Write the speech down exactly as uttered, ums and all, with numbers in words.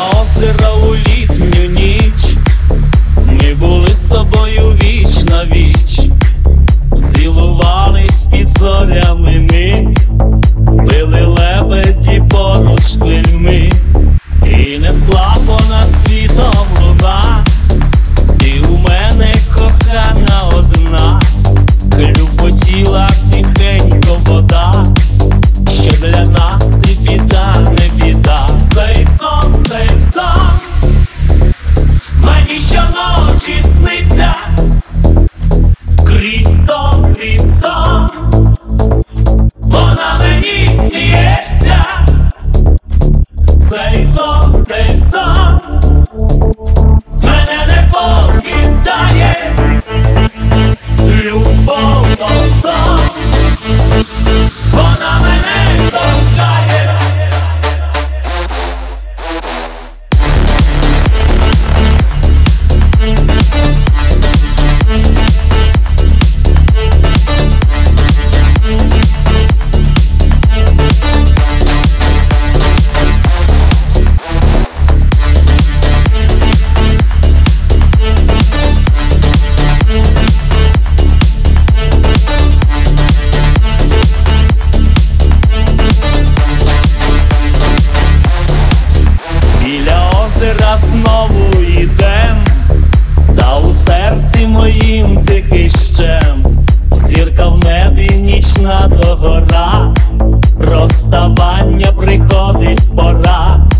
озера у літню ніч ми були з тобою віч на віч, цілувались під зорями ми, били лебеді поруч хвильми, і несла понад світом луна. Ти у мене кохана одна, хлюпотіла тихенько вода, що для нас і біда, не біда. Цей сон, цей сон мені щоночі сниться, крізь сон, крізь сон вона мені сміється. Цей сон, цей сон мене не покидає, любов то сон, вона мене торкає. Знову йдем, та у серці моїм тихий щем, зірка в небі, нічна догора, розставання приходить пора.